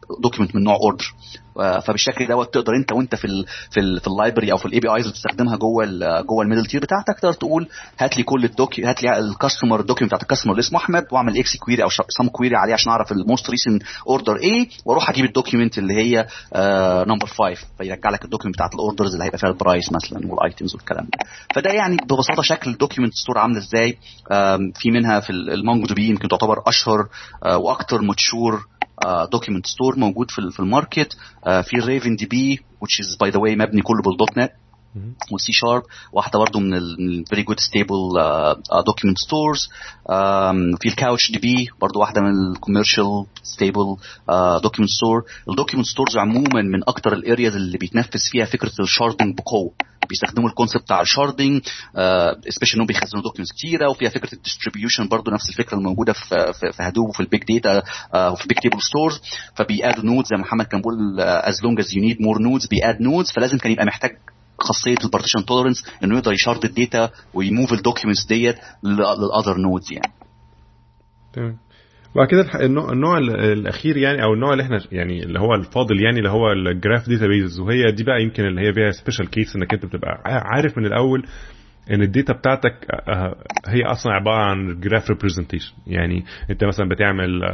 دوكيمنت من نوع اوردر. فبالشكل دوت تقدر انت وانت في ال في ال في اللايبرري او في الاي بي ايز اللي بتستخدمها جوه ال جوه الميدل تير بتاعتك، تقدر تقول هات لي كل الدوكي هات لي الكاستمر دوكيمنت بتاعت الكاستمر اللي اسمه احمد، واعمل اكس كويري او سم كويري عليه عشان اعرف الموست ريسنت اوردر ايه، واروح اجيب الدوكيمنت اللي هي نمبر خمسة فيرجع لك الدوكيمنت بتاعت الاوردرز اللي هيبقى فيها البرايس مثلا والايتمز والكلام ده. فده يعني ببساطه شكل الدوكيمنت ستور عامله ازاي. في منها في المونجو دي بي يمكن تعتبر اشهر واكثر ماتشور دوكيمنت ستور موجود في في الماركت. uh, في الريفن دي بي which is by the way مبني كله بالدوت نت والسي شارب، واحده برضو من ال very good stable uh, document stores. um, في الكاوتش دي بي برضو واحده من الكوميرشال stable uh, document store. الدوكيمنت ستورز عموما من اكتر الارياز اللي بيتنفذ فيها فكره الشاردنج بقوه، بيستخدموا الكونسبت بتاع الشاردنج سبيشال انهم بيخزنوا دوكيومنتس كتيره، وفيها فكره الديستريبيوشن برضو نفس الفكره الموجوده في في هدوب وفي البيج داتا وفي بيج تيبل ستورز. فبيادوا نودز زي ما محمد كان بيقول as long as you need more nodes بياد نودز، فلازم كان يبقى محتاج خاصيه البارتيشن توليرنس انه يقدر يشارد الداتا ويموف الدوكيومنتس ديت للاذر نودز يعني. تمام. وبعد كده النوع, النوع الاخير يعني او النوع اللي احنا يعني اللي هو الفاضل يعني اللي هو الجراف داتابيز، وهي دي بقى يمكن اللي هي فيها سبيشال كيس انك انت بتبقى عارف من الاول ان الداتا بتاعتك هي اصلا عباره عن جراف ريبريزنتيشن. يعني انت مثلا بتعمل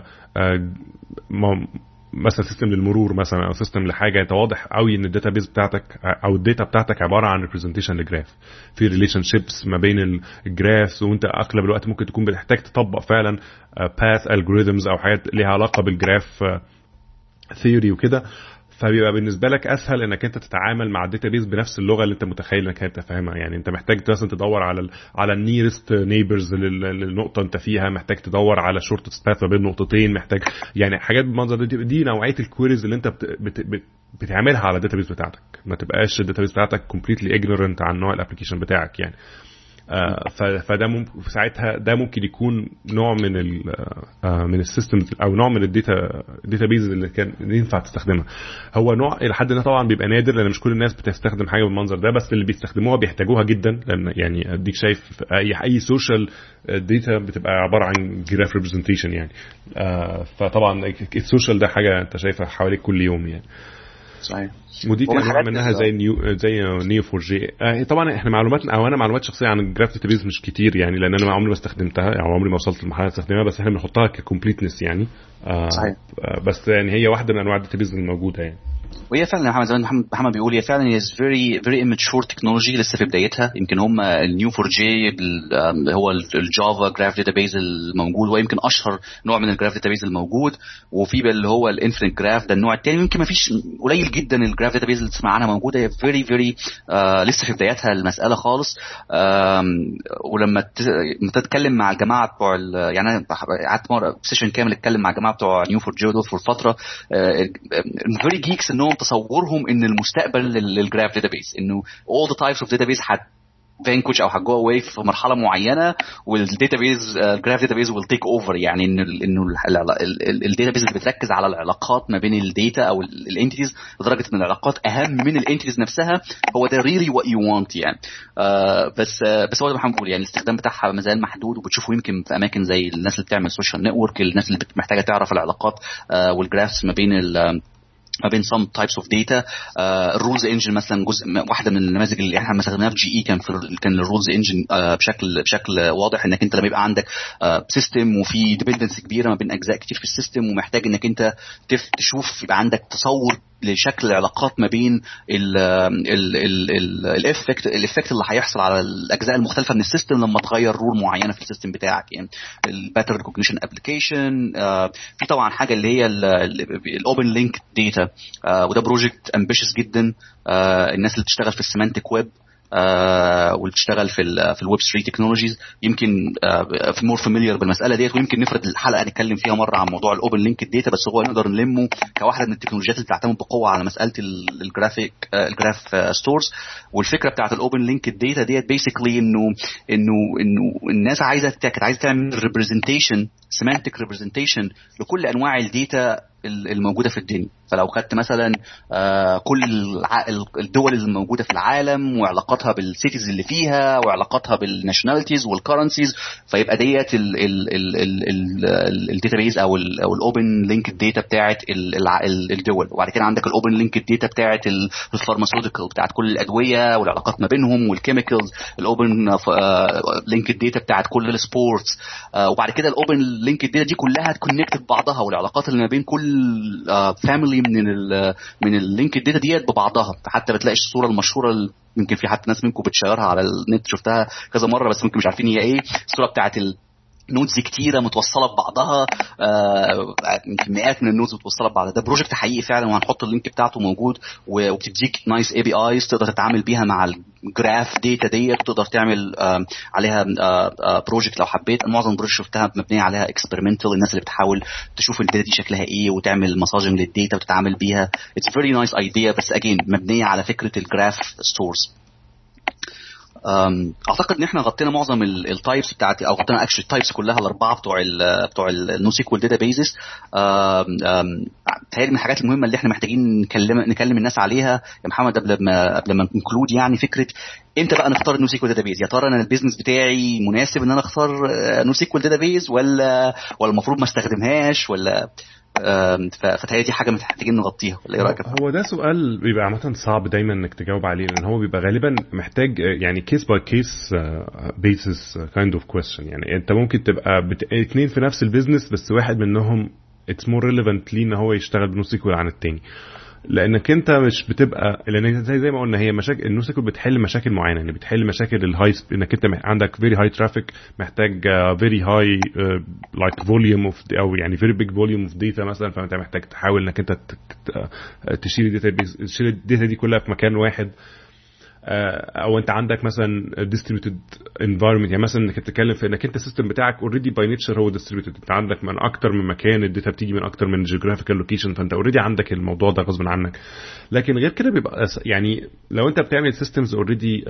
مثلا سيستم للمرور مثلا او سيستم لحاجه، انت واضح قوي ان الداتابيز بتاعتك او الداتا بتاعتك عباره عن ريبريزنتيشن لجراف، في ريليشن شيبس ما بين الجرافز، وانت اغلب الوقت ممكن تكون بتحتاج تطبق فعلا باث الجوريثمز او حاجات ليها علاقه بالجراف ثيوري وكده. فبيبقى بالنسبه لك اسهل انك انت تتعامل مع الداتابيز بنفس اللغه اللي انت متخيل انك انت فاهمها. يعني انت محتاج مثلا تدور على ال على النيرست نيبرز للنقطه انت فيها، محتاج تدور على شورتست باث ما بين نقطتين، محتاج يعني حاجات بالمنظر دي. دي نوعيه الكويريز اللي انت بت بت بت بتعملها على الداتابيز بتاعتك، ما تبقاش الداتابيز بتاعتك كومبليتلي اجنورنت عن نوع الابلكيشن بتاعك يعني. آه فده ممكن ساعتها ده ممكن يكون نوع من ال آه من السيستمز او نوع من الداتا داتابيز اللي كان ينفع تستخدمها. هو نوع الى حد ما طبعا بيبقى نادر لان مش كل الناس بتستخدم حاجه بالمنظر ده، بس اللي بيستخدموها بيحتاجوها جدا، لان يعني اديك شايف اي اي سوشيال داتا بتبقى عباره عن جراف ريبريزنتيشن يعني. آه فطبعا السوشيال ده حاجه انت شايفها حواليك كل يوم يعني. صحيح. ودي كان منها زي نيو زي نيو فور جي. آه طبعا احنا معلوماتنا او انا معلومات شخصيه عن الجراف داتابيز مش كتير يعني، لان انا عمري ما استخدمتها او عمري ما وصلت لمرحله استخدمها، بس احنا بنحطها ككومبليتنس يعني. آه صحيح. آه بس يعني هي واحده من انواع الداتابيز الموجوده يعني. وهي فعلا محمد زي محمد محمد بيقول هي فعلا هي فيري فيري immature تكنولوجي لسه في بدايتها. يمكن هم النيو فور جي هو الجافا جراف داتابيز الموجود، ويمكن اشهر نوع من الجراف داتابيز الموجود، وفي اللي هو الانفينيت جراف ده النوع الثاني. يمكن ما فيش قليل جدا الجراف داتابيز اللي تسمع عنها موجوده، هي فيري فيري لسه في بدايتها المساله خالص. ولما تتكلم مع الجماعه بتوع يعني انا قعدت مره سيشن كامل اتكلم مع الجماعه بتوع نيو فور جي دول في فتره فيري جيكس انهم تصورهم ان المستقبل للجراف داتابيز انه all the types of database had vanquish او هتجو اواي في مرحله معينه، والداتابيز الجراف داتابيز will take over. يعني انه انه الداتابيز اللي بتركز على العلاقات ما بين الداتا او الانتيتيز لدرجه ان العلاقات اهم من الانتيتيز نفسها، هو ده really what you want يعني. آه بس آه بس هو زي ما بنقول يعني الاستخدام بتاعها ما زال محدود، وبتشوفه يمكن في اماكن زي الناس اللي بتعمل سوشيال نتورك، الناس اللي محتاجه تعرف العلاقات آه والجرافس ما بين ال ما بين some types of data. الرولز انجن مثلا جزء واحده من النماذج اللي احنا استخدمناها في جي اي كان في كان الرولز انجن uh, بشكل بشكل واضح انك انت لما يبقى عندك سيستم uh, وفي ديبندنس كبيره ما بين اجزاء كتير في السيستم، ومحتاج انك انت تشوف يبقى عندك تصور لشكل العلاقات ما بين الافكت الافكت اللي هيحصل على الاجزاء المختلفه من السيستم لما تغير رول معينه في السيستم بتاعك يعني. الباترن ريكوجنيشن ابلكيشن، في طبعا حاجه اللي هي الاوبن لينك داتا، وده بروجكت امبيشس جدا. الناس اللي بتشتغل في السيمانتيك ويب آه واللي بتشتغل في ال في الويب ثري تكنولوجيز يمكن آه في مور فاميليار بالمساله ديت، ويمكن نفرد الحلقه نتكلم فيها مره عن موضوع الاوبن لينك داتا، بس هو نقدر نلمه كواحده من التكنولوجيات اللي بتعتمد بقوه على مساله الجرافيك آه الجراف آه ستورز. والفكره بتاعه الاوبن لينك داتا ديت بيسيكلي انه انه انه الناس عايزه كانت عايزه تعمل ريبريزنتيشن semantic representation لكل انواع الداتا الموجوده في الدنيا. فلو خدت مثلا كل الدول الموجوده في العالم وعلاقاتها بالسيتيز اللي فيها وعلاقاتها بالناشوناليتيز والكرنسيز، فيبقى ديت الداتابيز او الاوبن لينك داتا بتاعه الدول. وبعد كده عندك الاوبن لينك داتا بتاعه الفارماسيوتيكال بتاعه كل الادويه والعلاقات ما بينهم والكيميكالز، الاوبن لينك داتا بتاعه كل السبورتس، وبعد كده الاوبن لينك داتا دي كلها تكونكت ببعضها والعلاقات اللي ما بين كل فاميلي من ال من اللينك داتا ديت ببعضها. فحتى بتلاقي الصوره المشهوره يمكن في حتى ناس منكم بتشيرها على النت، شفتها كذا مره بس ممكن مش عارفين هي ايه، الصوره بتاعت نودز كتيره متوصله ببعضها، يمكن مئات من النودز متوصله ببعضها. ده بروجكت حقيقي فعلا وهنحط اللينك بتاعته موجود، وبتديك نايس اي بي ايز تقدر تتعامل بيها مع الجراف داتا ديت، تقدر تعمل عليها بروجكت لو حبيت. معظم البروجكت شفتها مبنيه عليها اكسبيرمنتال، الناس اللي بتحاول تشوف الداتا دي شكلها ايه وتعمل مساجنج للداتا وتتعامل بيها. اتس فيري نايس ايديا، بس اجين مبنيه على فكره الجراف ستورز. اعتقد ان احنا غطينا معظم التايبس بتاعت او غطينا اكشلي التايبس كلها الاربعه بتوع ال بتوع النو سيكوال داتابيزز. تهيألي من الحاجات المهمه اللي احنا محتاجين نكلم نكلم الناس عليها يا محمد قبل ما قبل ما نكلود، يعني فكره امتى بقى نختار النو سيكوال داتابيز؟ يا ترى انا البيزنس بتاعي مناسب ان انا اختار نو سيكوال داتابيز ولا ولا المفروض ما استخدمهاش، ولا فتهيألي دي حاجه محتاجين نغطيها، ولا ايه رايك؟ هو ده سؤال بيبقى عامه صعب دايما انك تجاوب عليه، لان هو بيبقى غالبا محتاج يعني كيس باي كيس بيسس كايند اوف كويستشن. يعني انت ممكن تبقى بت... اتنين في نفس البيزنس بس واحد منهم اتس مور ريليفنت ليه ان هو يشتغل بنو سيكوال عن التاني، لانك انت مش بتبقى لان زي زي ما قلنا هي مشاكل النو سيكوال بتحل مشاكل معينه، يعني بتحل مشاكل الهاي، انك انت عندك فيري هاي ترافيك، محتاج فيري هاي لايك فوليوم اوف او يعني فيري بيج فوليوم اوف داتا مثلا، فانت محتاج تحاول انك انت تشيل الداتا تشيل الداتا دي كلها في مكان واحد. او انت عندك مثلا distributed environment، يعني مثلا انك تتكلم في انك انت السيستم بتاعك already by nature هو distributed، انت عندك من اكتر من مكان، الداتا بتيجي من اكتر من geographical location، فانت already عندك الموضوع ده غصب عنك. لكن غير كده بيبقى يعني لو انت بتعمل systems already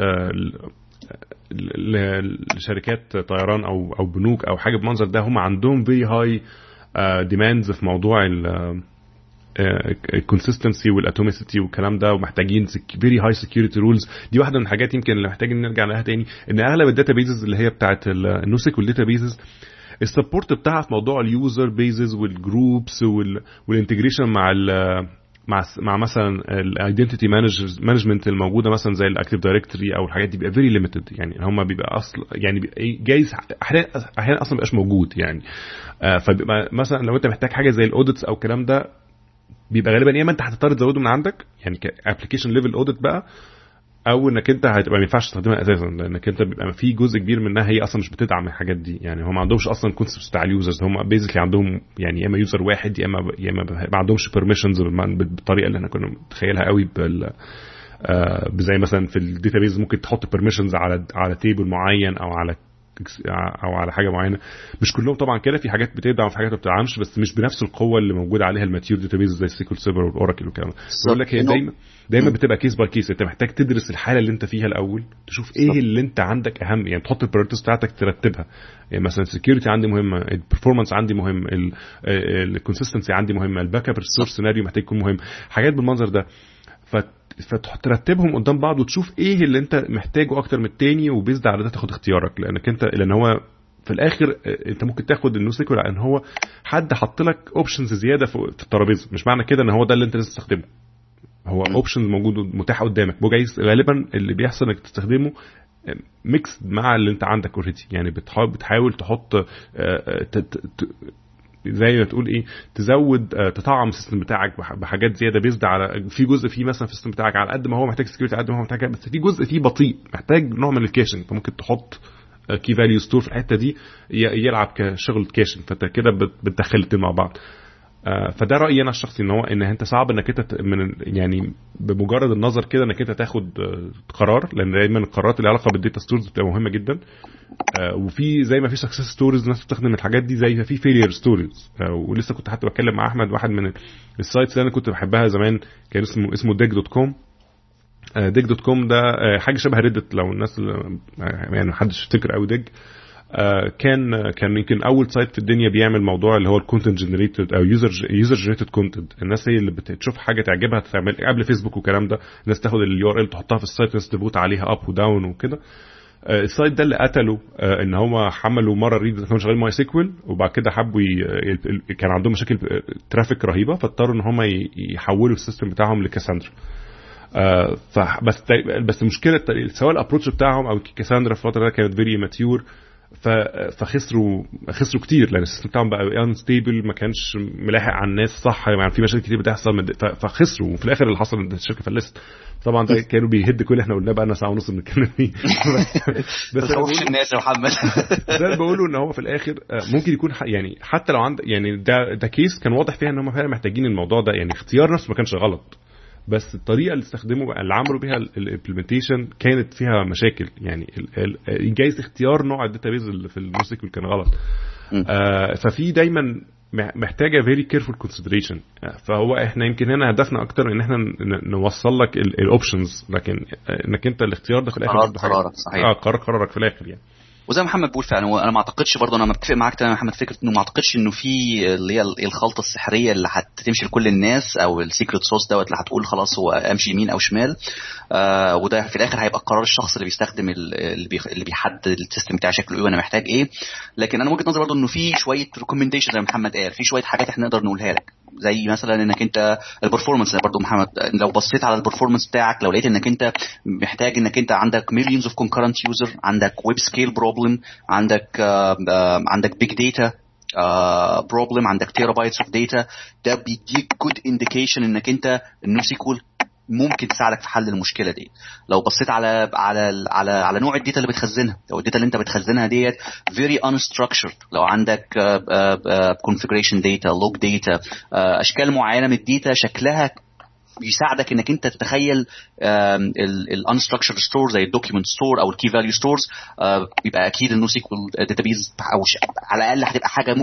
لشركات طيران او او بنوك او حاجه بمنظر ده، هم عندهم very high demands في موضوع ال الكونسيستنسي والاتوميسيتي والكلام ده، ومحتاجين فيري هاي سكيورتي رولز. دي واحده من الحاجات يمكن اللي محتاجين نرجع لها تاني، ان اغلب الداتابيزز اللي هي بتاعه النوسيك والداتابيزز السبورت بتاعها في موضوع اليوزر بيزز والجروبس والانتجريشن مع ال مع مع مثلا الايدنتيتي مانجمنت الموجوده مثلا زي الاكتيف دايركتوري او الحاجات دي بيبقى فيري ليميتد، يعني هم بيبقى اصل يعني جايز احيانا احيانا اصلا مبقاش موجود يعني. فبيبقى مثلا لو انت محتاج حاجه زي الاوديتس او الكلام ده، بيبقى غالبا يا اما انت هتضطر تزوده من عندك يعني كابلكيشن ليفل اوديت بقى، او انك انت هتبقى ما ينفعش تستخدمها اساسا، لانك انت بيبقى في جزء كبير منها هي اصلا مش بتدعم الحاجات دي. يعني هم ما عندهمش اصلا كونسبت بتاع اليوزرز، هم بيزيكلي عندهم يعني يا اما يوزر واحد يا اما يا اما ما عندهمش بيرميشنز بالطريقه اللي احنا كنا متخيلها قوي بال آه زي مثلا في الداتابيز ممكن تحط بيرميشنز على على تيبل معين او على او على حاجه معينه. مش كلهم طبعا كده، في حاجات بتدعم وفي حاجات ما بتدعمش، بس مش بنفس القوه اللي موجوده عليها الماتيور داتابيز زي السيكول سيرفر والاوراكل والكلام ده. بقول لك هي دايما دايما بتبقى كيس باي كيس، انت محتاج تدرس الحاله اللي انت فيها الاول، تشوف ايه اللي انت عندك اهم، يعني تحط البريورتيز بتاعتك ترتبها. يعني مثلا السكيورتي عندي مهمه، البرفورمانس عندي مهم، الكونسيستنسي عندي مهمه، الباك اب ريسورس سيناريو محتاج يكون مهم، حاجات بالمنظر ده. ف فترتبهم قدام بعض وتشوف ايه اللي انت محتاجه اكتر من التاني، وبيزد على ده تاخد اختيارك، لانك انت لان هو في الاخر انت ممكن تاخد النوسيكول لان هو حد حط لك اوبشنز زياده في الترابيزه، مش معنى كده ان هو ده اللي انت لازم تستخدمه، هو اوبشنز موجود متاح قدامك. وجايز غالبا اللي بيحصل انك تستخدمه ميكس مع اللي انت عندك اوريدي، يعني بتحاول بتحاول تحط زي ما تقول ايه تزود تطعم السيستم بتاعك بحاجات زياده بيزد على في جزء فيه مثلا في السيستم بتاعك على قد ما هو محتاج سكيورتي على قد ما هو محتاج، بس في جزء فيه بطيء محتاج نوع من الكاشنج، فممكن تحط كي فاليو ستور في الحته دي يلعب كشغل كاشنج، فانت كده بتدخل الاثنين مع بعض. فده رايي انا الشخصي، ان هو ان انت صعب انك انت من يعني بمجرد النظر كده انك انت تاخد قرار، لان دايما القرارات اللي علاقه بالداتا ستورز بتبقى مهمه جدا. وفي زي ما في سكسس ستوريز ناس بتستخدم الحاجات دي، زي ما في فيلير ستوريز. ولسه كنت حتى بتكلم مع احمد، واحد من السايتس اللي انا كنت بحبها زمان كان اسمه اسمه ديك دوت كوم. ديك دوت كوم ده حاجه شبه ريدت، لو الناس يعني محدش يفتكر قوي ديك. كان كان يمكن اول سايت في الدنيا بيعمل موضوع اللي هو الكونتنت جنريتد او يوزر يوزر جنريتد كونتنت. الناس هي اللي بتشوف حاجه تعجبها تعمل قبل فيسبوك والكلام ده، الناس تاخد اليو ار ال تحطها في السايت، الناس تبوت عليها اب وداون وكده. السايت ده اللي قتله ان هم حملوا مره ريد كانوا شغالين ماي سيكوال، وبعد كده حبوا ي... كان عندهم مشاكل ترافيك رهيبه، فاضطروا ان هم يحولوا السيستم بتاعهم لكاساندرا. آه فبس بس المشكله سواء الابروتش بتاعهم او كاساندرا في الفتره دي كانت فيري ماتيور، فخسروا خسروا كتير لان السيستم بتاعهم بقى انستيبل، ما كانش ملاحق على الناس صح، يعني في مشاكل كتير بتحصل فخسروا، وفي الاخر اللي حصل ان الشركه فلست. طبعا ده كانوا بيهد كل اللي احنا قلناه بقى لنا ساعه ونص بنتكلم فيه. بس خوفش الناس يا محمد. ده اللي بقوله ان هو في الاخر ممكن يكون يعني حتى لو عند يعني ده ده كيس كان واضح فيها ان هم فعلا محتاجين الموضوع ده، يعني اختيار نفسه ما كانش غلط، بس الطريقه اللي استخدموا اللي عملوا بيها الامبلمنتيشن كانت فيها مشاكل. يعني جايز اختيار نوع الداتابيز اللي في النوسيكول كان غلط. آه ففي دايما محتاجه فيري كيرفول كونسيدريشن. فهو احنا يمكن هنا هدفنا اكتر ان احنا نوصل لك الاوبشنز، لكن انك انت الاختيار ده في الاخر قرارك صحيح. اه قرار قرارك في الاخر يعني. وزي ما محمد بيقول فعلا، انا ما اعتقدش برضه، انا متفق معاك تماما محمد، فكره انه ما اعتقدش انه في اللي هي الخلطه السحريه اللي هتمشي لكل الناس، او السيكريت صوص دوت اللي هتقول خلاص هو امشي يمين او شمال. آه وده في الاخر هيبقى قرار الشخص اللي بيستخدم اللي, بيخ... اللي بيحدد السيستم بتاعه شكله ايه وانا محتاج ايه. لكن انا وجهه نظري برضه انه في شويه ريكومنديشن زي ما محمد قال، في شويه حاجات احنا نقدر نقولها لك، زي مثلا انك انت البرفورمانس برضه محمد، لو بصيت على البرفورمانس بتاعك لو لقيت انك انت محتاج انك انت عندك مليونز اوف كونكرنت يوزر، عندك ويب سكيل بروبلم، عندك uh, uh, عندك بيج داتا بروبلم، عندك تيرا بايتس اوف داتا، ده بيديك جود انديكيشن انك انت النوسيكول ممكن تساعدك في حل المشكله دي. لو بصيت على على على على نوع الداتا اللي بتخزنها، لو الداتا اللي انت بتخزنها ديت very unstructured، لو عندك uh, uh, uh, configuration data log data uh, اشكال معينه من الداتا شكلها بيساعدك انك انت تتخيل ال unstructured ستور زي الدوكيومنت ستور او الكي فاليو ستورز، يبقى اكيد النوسيكول داتابيز او على الاقل هتبقى حاجه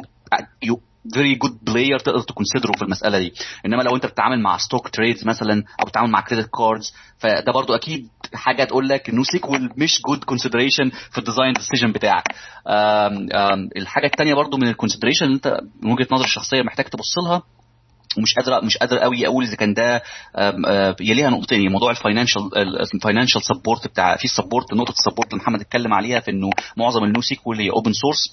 very good player تقدر تكونسيدره في المساله دي. انما لو انت بتتعامل مع ستوك تريدز مثلا او بتتعامل مع كريدت كاردز، فده برضو اكيد حاجه تقول لك النوسيكول مش جود كونسيدريشن في الديزاين ديسيجن بتاعك. آم آم الحاجه الثانيه برضو من الكونسيدريشن اللي انت من وجهه نظر الشخصيه محتاج تبص لها، ومش قادر مش قادر قوي اقول اذا كان ده يليها نقطتين، موضوع الفاينانشال الفاينانشال سبورت بتاع في السبورت، نقطه السبورت اللي محمد اتكلم عليها في انه معظم النوسيكول هي اوبن سورس،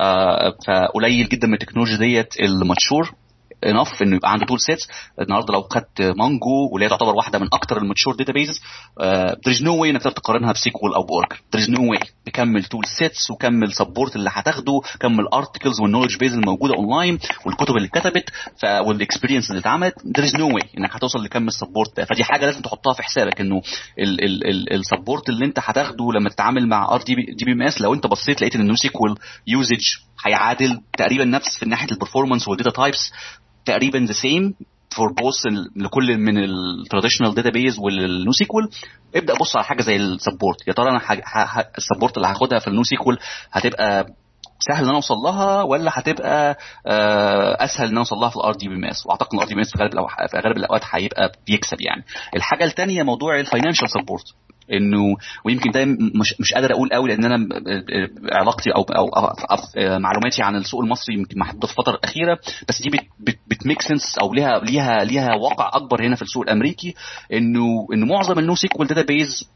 فقليل جدا من التكنولوجيا ديت الماتشور انف انه يبقى عنده تول سيتس. النهارده لو خدت مانجو واللي هي تعتبر واحده من اكتر الماتشور داتابيزز، there is no way انك تقارنها بسيكوال او باوراكل، there is no way. تكمل تول سيتس وكمل سبورت اللي هتاخده، كمل ارتكلز والنولج بيز الموجوده اونلاين والكتب اللي اتكتبت والاكسبيرينس اللي اتعملت، there is no way انك هتوصل لكم السبورت ده. فدي حاجه لازم تحطها في حسابك، انه السبورت اللي انت هتاخده لما تتعامل مع ار دي بي ام اس، لو انت بصيت لقيت ان النو سيكوال يوزج هيعادل تقريبا نفس من ناحيه البرفورمانس والداتا تايبس تقريبا the same for both لكل من التراديشنال داتابيز والنوسيكوال، ابدا بص على حاجه زي السبورت. يا ترى انا السبورت اللي هاخدها في النوسيكوال هتبقى سهل ان انا اوصل لها ولا هتبقى اسهل ان انا اوصل لها في الار دي بي ام اس؟ واعتقد الار دي بي ام اس في غالب في غالب الاوقات هيبقى بيكسب يعني. الحاجه الثانيه موضوع الفاينانشال سبورت، انه ويمكن ده مش مش قادر اقول قوي لان انا علاقتي او او, أو, أو معلوماتي عن السوق المصري يمكن محدوده في الفتره الاخيره، بس دي بتميك سنس او ليها ليها ليها واقع اكبر هنا في السوق الامريكي، انه انه معظم النو سيكوال داتابيز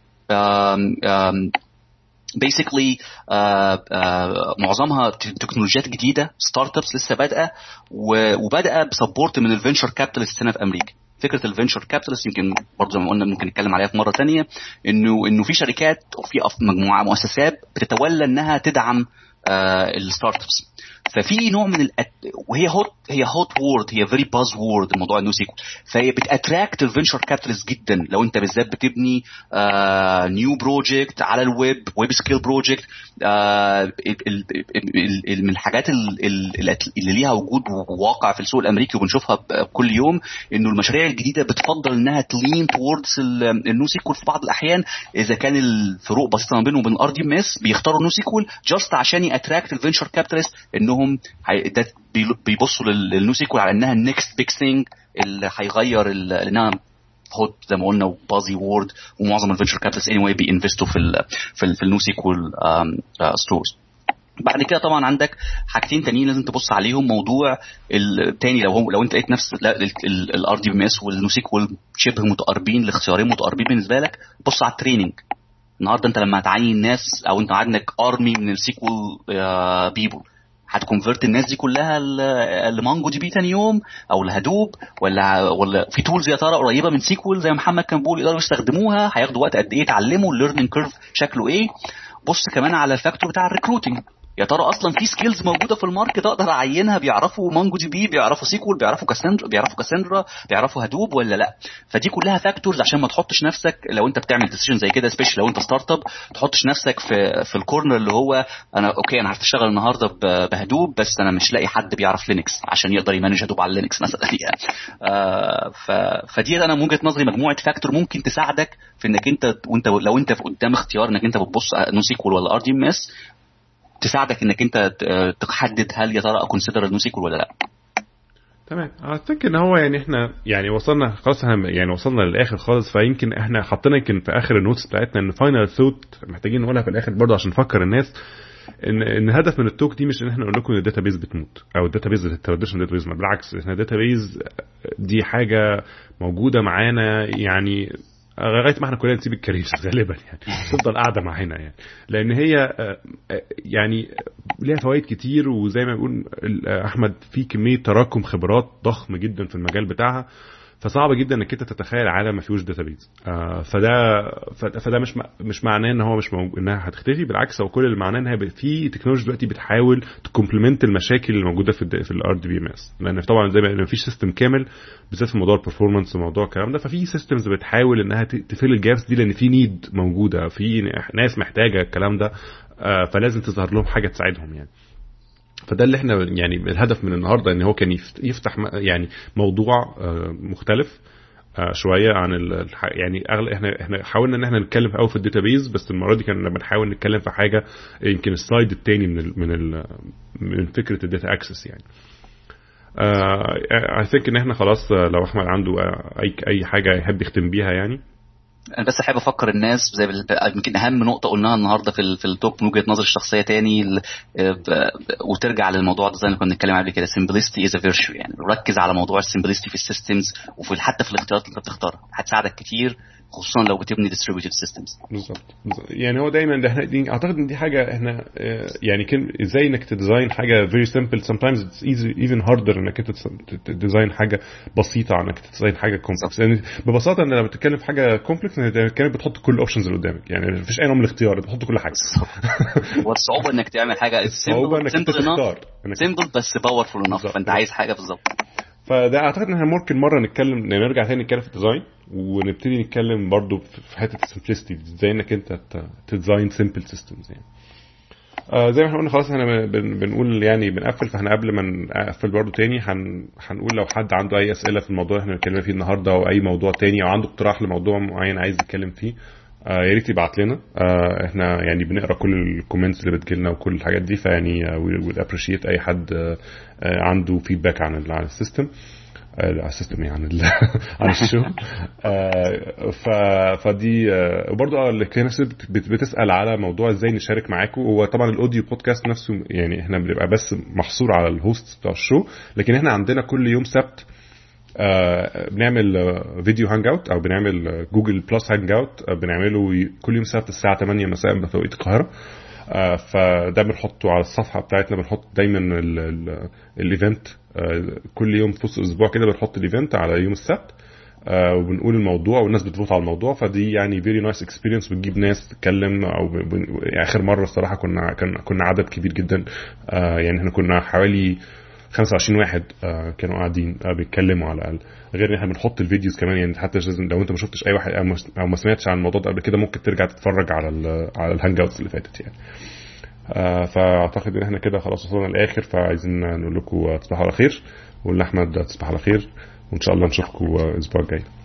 basically uh, uh, معظمها تكنولوجيات جديده، ستارت ابس لسه بادئه، وبادئه بسبورت من الفينشر كابيتالست هنا في امريكا. فكره الفينشر كابيتالست يمكن برضه زي ما قلنا ممكن نتكلم عليها في مره ثانيه، انه انه في شركات وفي مجموعه مؤسسات بتتولى انها تدعم uh, الستارت ابس. ففي نوع من الأت... وهي هوت هي هوت وورد، هي فيري باز وورد الموضوع النو سيكوال، فهي بتاتراكت الفينشر كابيتالست جدا. لو انت بالذات بتبني آه نيو بروجكت على الويب، ويب سكيل بروجكت، آه من الحاجات اللي ليها وجود وواقع في السوق الامريكي وبنشوفها كل يوم، انه المشاريع الجديده بتفضل انها تلين توردز النو سيكوال في بعض الاحيان. اذا كان الفروق بسيطه ما بينهم وبين الار دي ام اس بيختاروا النو سيكوال جاست عشان ياتراكت الفينشر كابيتالست، انهم بيبصوا للنو سيكوال على انها النكست بيج ثينج اللي هيغير انها هوت زي ما قلنا وبازي وورد. ومعظم الفينشر كابيتالست اني واي بينفستوا في ال في, ال في النو سيكوال ستورز. بعد كده طبعا عندك حاجتين تانيين لازم تبص عليهم. موضوع التاني لو هو لو انت لقيت نفس الار دي بي اس والنوسيكوال شبه متقاربين، الاختيارين متقاربين بالنسبه لك، بص على التريننج. النهارده انت لما تعين الناس او انت عندك ارمي من السيكوال بيبل، هتكونفرت الناس دي كلها لمانجو دي بي تاني يوم او لهدوب، ولا ولا في تولز يا ترى قريبه من سيكوال زي محمد كان بيقول يقدروا يستخدموها؟ هياخدوا وقت قد ايه يتعلموا؟ الليرنينج كيرف شكله ايه؟ بص كمان على الفاكتور بتاع الريكروتنج. يا ترى اصلا في سكيلز موجوده في الماركت اقدر اعينها بيعرفوا مانجو دي بي، بيعرفوا سيكوال، بيعرفوا كاساندرا، بيعرفوا كاساندرا بيعرفوا هدوب ولا لا؟ فدي كلها فاكتورز عشان ما تحطش نفسك لو انت بتعمل ديسيجن زي كده، سبيشال لو انت ستارت اب، تحطش نفسك في في الكورنر اللي هو انا اوكي انا عارف اشتغل النهارده بهدوب بس انا مش لاقي حد بيعرف لينكس عشان يقدر يمانج هدوب على لينكس مثلا يعني. آه ف فدي انا من وجهه نظري مجموعه فاكتور ممكن تساعدك في انك انت وانت لو انت قدام اختيار انك انت بتبص نو سيكوال ولا ار دي ام اس، تساعدك انك انت تحدد هل يا ترى اكونسيدر النوسيكول ولا لا. تمام. اعتقد ان هو يعني احنا يعني وصلنا خلاص، يعني وصلنا للاخر خالص، فيمكن احنا حطينا يمكن في اخر النوتس بتاعتنا ان فاينل ثوت محتاجين نقولها في الاخر برضه عشان نفكر الناس ان ان الهدف من التوك دي مش ان احنا نقول لكم ان الداتابيز بتموت او الداتابيز التراديشنال داتابيز، بالعكس احنا الداتابيز دي حاجه موجوده معانا يعني لغايه ما احنا كلنا نسيب الكارير غالبا يعني تفضل قاعده معانا يعني، لان هي يعني ليها فوائد كتير، وزي ما بيقول احمد في كميه تراكم خبرات ضخم جدا في المجال بتاعها، فصعب جدا انك انت تتخيل عالم ما فيهوش داتابيز. آه فده فده مش مش معناه ان هو مش موجود انها هتختفي، بالعكس هو كل اللي معناه انها في تكنولوجيا دلوقتي بتحاول تكومبلمنت المشاكل اللي موجوده في في الار دي بي ام اس، لان طبعا زي ما فيش سيستم كامل بالذات في موضوع البرفورمانس وموضوع الكلام ده، ففي سيستمز بتحاول انها تفل الجابس دي، لان في نيد موجوده، في ناس محتاجه الكلام ده، آه فلازم تظهر لهم حاجه تساعدهم يعني. فده اللي احنا يعني الهدف من النهارده، ان هو كان يفتح يعني موضوع مختلف شويه عن يعني اغلب احنا احنا حاولنا ان احنا نتكلم في اول في الداتابيز، بس المره دي كنا بنحاول نتكلم في حاجه يمكن السلايد الثاني من ال من ال من فكره الداتا اكسس يعني. اي ثينك ان احنا خلاص لو احمد عنده اي اي حاجه يحب يختم بيها يعني. انا بس حابب افكر الناس زي يمكن اهم نقطه قلناها النهارده في في التوك من وجهه نظري الشخصيه تاني، وترجع للموضوع ده زي ما كنا بنتكلم عليه كده، simplicity is a virtue. يعني ركز على موضوع السمبلستي في السيستمز وفي حتى في الاختيارات اللي انت بتختارها، هتساعدك كتير خصوصا لو بتبني distributed systems. بالظبط. يعني هو دايما ده احنا اعتقد ان دي حاجه احنا يعني كان ازاي انك تديزاين حاجه very simple sometimes it's easy even harder انك انت تديزاين حاجه بسيطه عن انك تديزاين حاجه كومبلكس. يعني ببساطه ان لما بتتكلم في حاجه كومبلكس كانت بتحط كل الاوبشنز اللي قدامك، يعني مفيش اي نوع من الاختيار، بتحط كل حاجه. والصعوبه انك تعمل حاجه simple simple بس powerful enough، فانت عايز حاجه بالظبط. فده اعتقد ان احنا ممكن مره نتكلم نرجع تاني نتكلم في الديزاين، ونبتدي نتكلم برضو في حته السمبلسيتي ازاي انك انت تديزاين سمبل سيستمز يعني. آه زي ما احنا قلنا خلاص احنا بن بنقول يعني بنقفل، فاحنا قبل ما نقفل برضو تاني هن هنقول لو حد عنده اي اسئله في الموضوع اللي احنا بنتكلم فيه النهارده او اي موضوع تاني او عنده اقتراح لموضوع معين عايز يتكلم فيه، آه يا ريت يبعت لنا. آه احنا يعني بنقرا كل الكومنتس اللي بتجيلنا وكل الحاجات دي، فيعني وي ويل ابريشيت اي حد آه عنده فيدباك عن عن السيستم على السيستم يعني عن الشو. ف فدي برضه اللي كانت بتسال على موضوع ازاي نشارك معاكم. هو طبعا الاوديو بودكاست نفسه يعني احنا بنبقى بس محصور على الهوست بتاع الشو، لكن احنا عندنا كل يوم سبت بنعمل فيديو هانج اوت او بنعمل جوجل بلس هانج اوت، بنعمله كل يوم سبت الساعه ثمانية مساء بتوقيت القاهره. آه فده بنحطه على الصفحه بتاعتنا، بنحط دايما الايفنت آه كل يوم في نص الاسبوع كده بنحط الايفنت على يوم السبت، آه وبنقول الموضوع والناس بتفوت على الموضوع. فدي يعني فيري نايس اكسبيرينس، بتجيب ناس تتكلم. او يعني اخر مره الصراحه كنا كنا عدد كبير جدا، آه يعني احنا كنا حوالي خمسة وعشرين واحد آه كانوا قاعدين آه بيتكلموا على الاقل، غير ان احنا بنحط الفيديوز كمان. يعني حتى لو انت ما شفتش اي واحد او ما سمعتش عن الموضوع ده قبل كده ممكن ترجع تتفرج على على الهانج اوتس اللي فاتت يعني. آه فاعتقد ان احنا كده خلاص وصلنا للاخر، فعايزين نقول لكم تصبحوا على خير، ونقول لاحمد تصبح على خير، وان شاء الله نشوفكم الاسبوع الجاي.